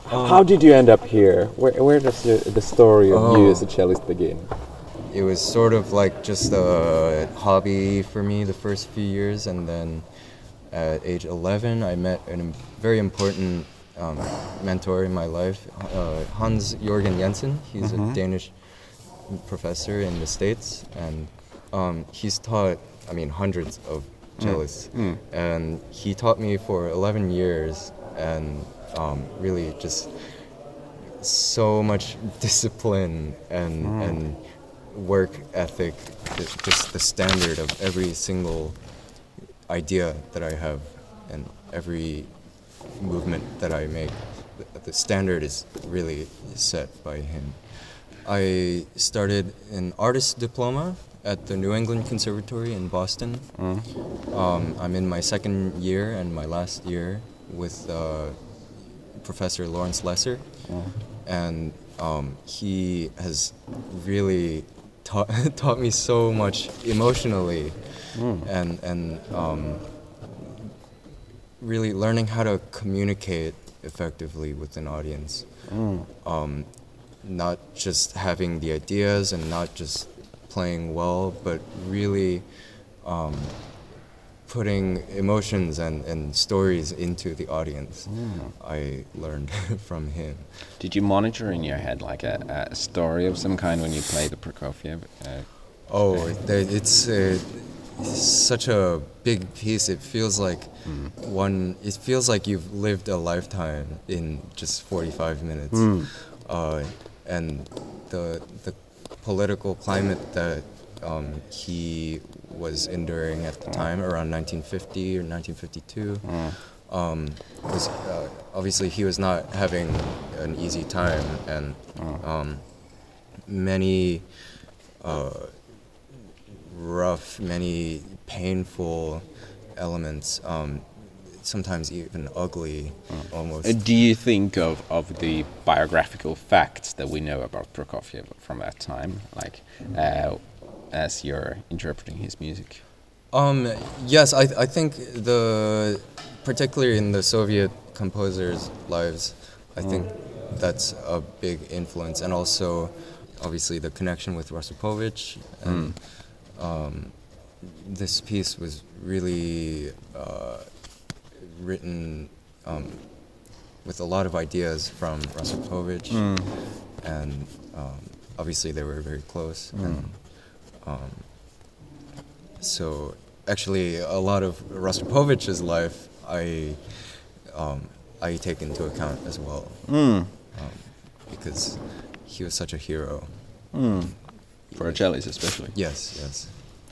How did you end up here? Where does the story of you as a cellist begin? It was sort of like just a hobby for me the first few years, and then at age 11 I met a very important mentor in my life, Hans Jørgen Jensen. He's a Danish professor in the States, and he's taught, hundreds of cellists, and he taught me for 11 years, and really just so much discipline and work ethic, just the standard of every single idea that I have and every movement that I make. The standard is really set by him. I started an artist diploma at the New England Conservatory in Boston. I'm in my second year and my last year with Professor Lawrence Lesser, and he has really taught me so much emotionally, and really learning how to communicate effectively with an audience. Not just having the ideas and not just playing well, but really putting emotions and stories into the audience. I learned from him. Did you monitor in your head like a story of some kind when you play the Prokofiev? It's such a big piece. It feels like It feels like you've lived a lifetime in just 45 minutes. And the political climate that he was enduring at the time, around 1950 or 1952, was obviously he was not having an easy time, and many rough, many painful elements, sometimes even ugly, almost. Do you think of the biographical facts that we know about Prokofiev from that time, like as you're interpreting his music? Yes, I think particularly in the Soviet composers' lives, I think that's a big influence, and also obviously the connection with Rostropovich. And this piece was really written with a lot of ideas from Rostropovich, and obviously they were very close. And so actually a lot of Rostropovich's life I take into account as well, because he was such a hero. For a cellist especially. Yes.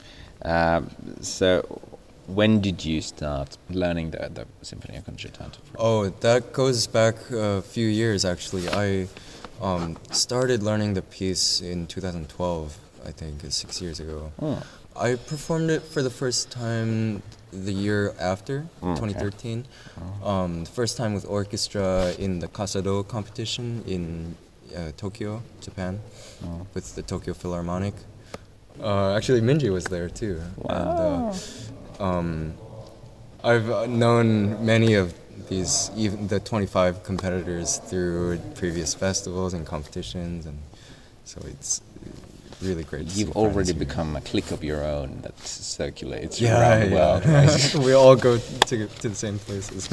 So when did you start learning the Sinfonia Concertante? That goes back a few years actually. I started learning the piece in 2012, I think, 6 years ago. I performed it for the first time the year after, 2013. The first time with orchestra in the Kasado competition in Tokyo, Japan, with the Tokyo Philharmonic. Actually, Minji was there too. Wow. And I've known many of these, even the 25 competitors, through previous festivals and competitions, and so it's really great. You've already become a clique of your own that circulates around the world. Right? We all go to the same places.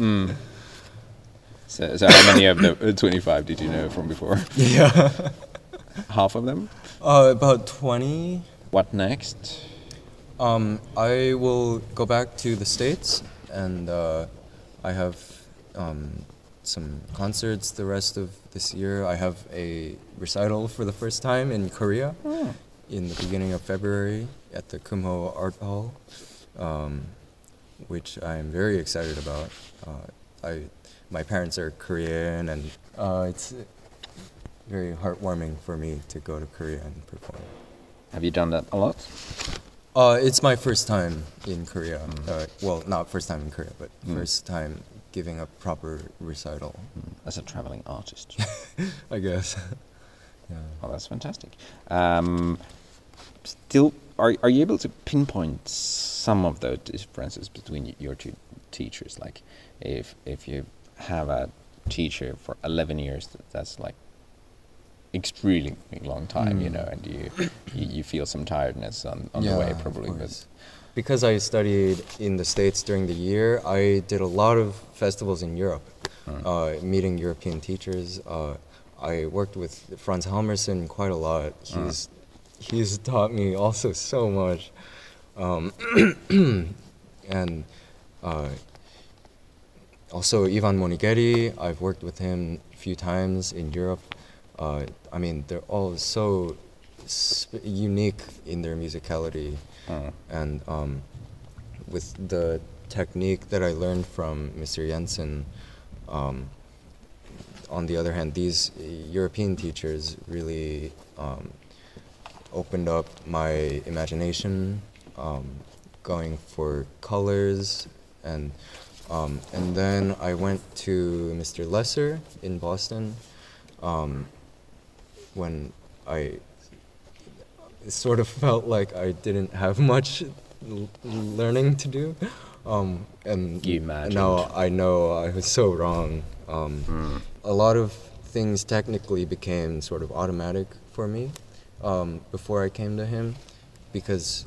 So how many of the 25 did you know from before? Yeah. Half of them? About 20. What next? I will go back to the States, and I have some concerts the rest of this year. I have a recital for the first time in Korea in the beginning of February at the Kumho Art Hall, which I'm very excited about. My parents are Korean, and it's very heartwarming for me to go to Korea and perform. Have you done that a lot? It's my first time in Korea. Well, not first time in Korea, but first time giving a proper recital. As a traveling artist. I guess. Yeah. Oh, that's fantastic. Still, are you able to pinpoint some of the differences between your two teachers? Like, if you have a teacher for 11 years. That's like extremely long time, you know, and you feel some tiredness on the way probably. But because I studied in the States during the year, I did a lot of festivals in Europe, meeting European teachers. I worked with Franz Halmerson quite a lot. He's taught me also so much. And also Ivan Monighetti, I've worked with him a few times in Europe. I mean, they're all so unique in their musicality. And with the technique that I learned from Mr. Jensen, on the other hand, these European teachers really opened up my imagination, going for colors, and then I went to Mr. Lesser in Boston, when I sort of felt like I didn't have much learning to do, and You imagined. now I know I was so wrong. A lot of things technically became sort of automatic for me before I came to him, because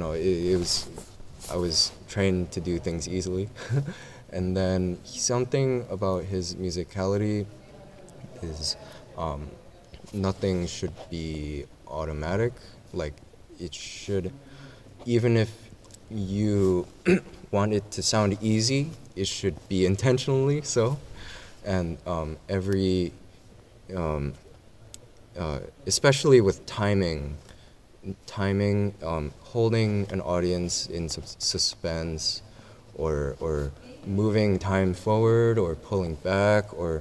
I was trained to do things easily. And then something about his musicality is nothing should be automatic. Like, it should, even if you want it to sound easy, it should be intentionally so. And especially with timing, holding an audience in suspense, or moving time forward or pulling back, or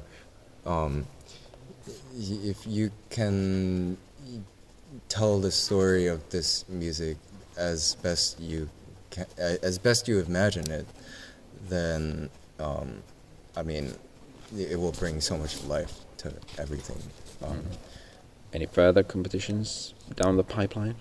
if you can tell the story of this music as best you can, as best you imagine it, then I mean, it will bring so much life to everything. Any further competitions down the pipeline?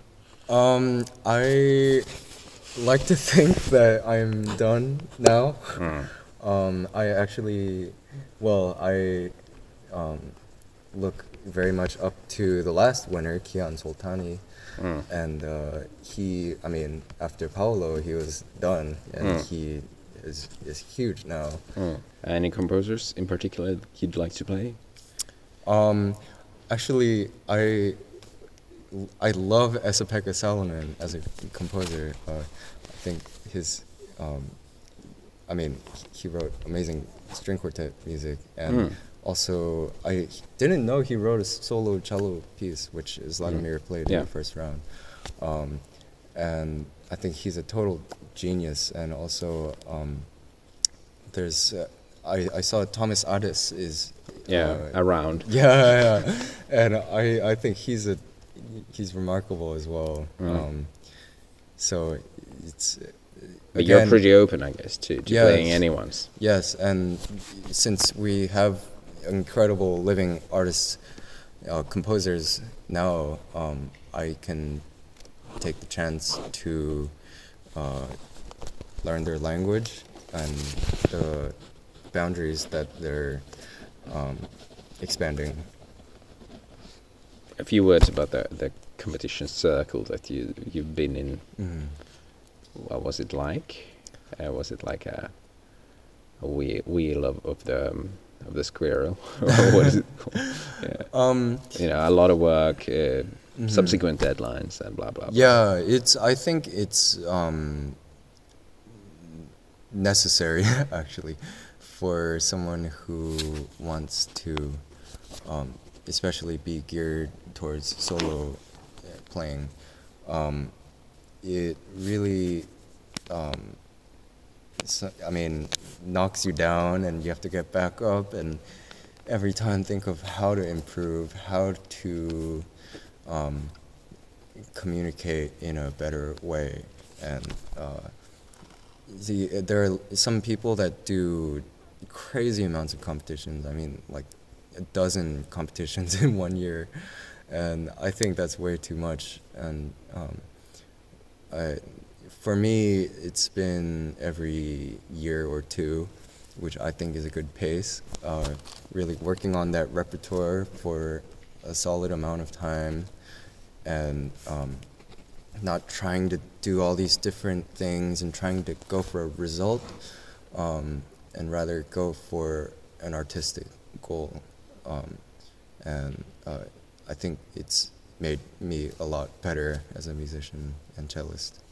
I like to think that I'm done now. I actually, I look very much up to the last winner, Kian Soltani, and after Paolo, he was done, and he is huge now. Any composers in particular you'd like to play? Actually, I love Esa-Pekka Salonen as a composer. I think his, he wrote amazing string quartet music, and also I didn't know he wrote a solo cello piece, which Zlatomir played in the first round. And I think he's a total genius. And also, there's I saw Thomas Addis is around. Yeah, and I think he's remarkable as well. So it's. But you're pretty open, I guess, to playing anyone's. Yes, and since we have incredible living artists, composers now, I can take the chance to learn their language and the boundaries that they're expanding. A few words about the competition circle that you've been in. What was it like? Was it like a wheel of the squirrel? Or what is it called? Yeah. A lot of work, subsequent deadlines, and blah blah. Yeah, I think it's necessary actually for someone who wants to, especially be geared towards solo playing. It really, knocks you down, and you have to get back up, and every time think of how to improve, how to communicate in a better way. And there are some people that do crazy amounts of competitions. I mean, like 12 competitions in 1 year, and I think that's way too much. And for me, it's been every year or two, which I think is a good pace. Really working on that repertoire for a solid amount of time, and not trying to do all these different things and trying to go for a result, and rather go for an artistic goal. And I think it's made me a lot better as a musician and cellist.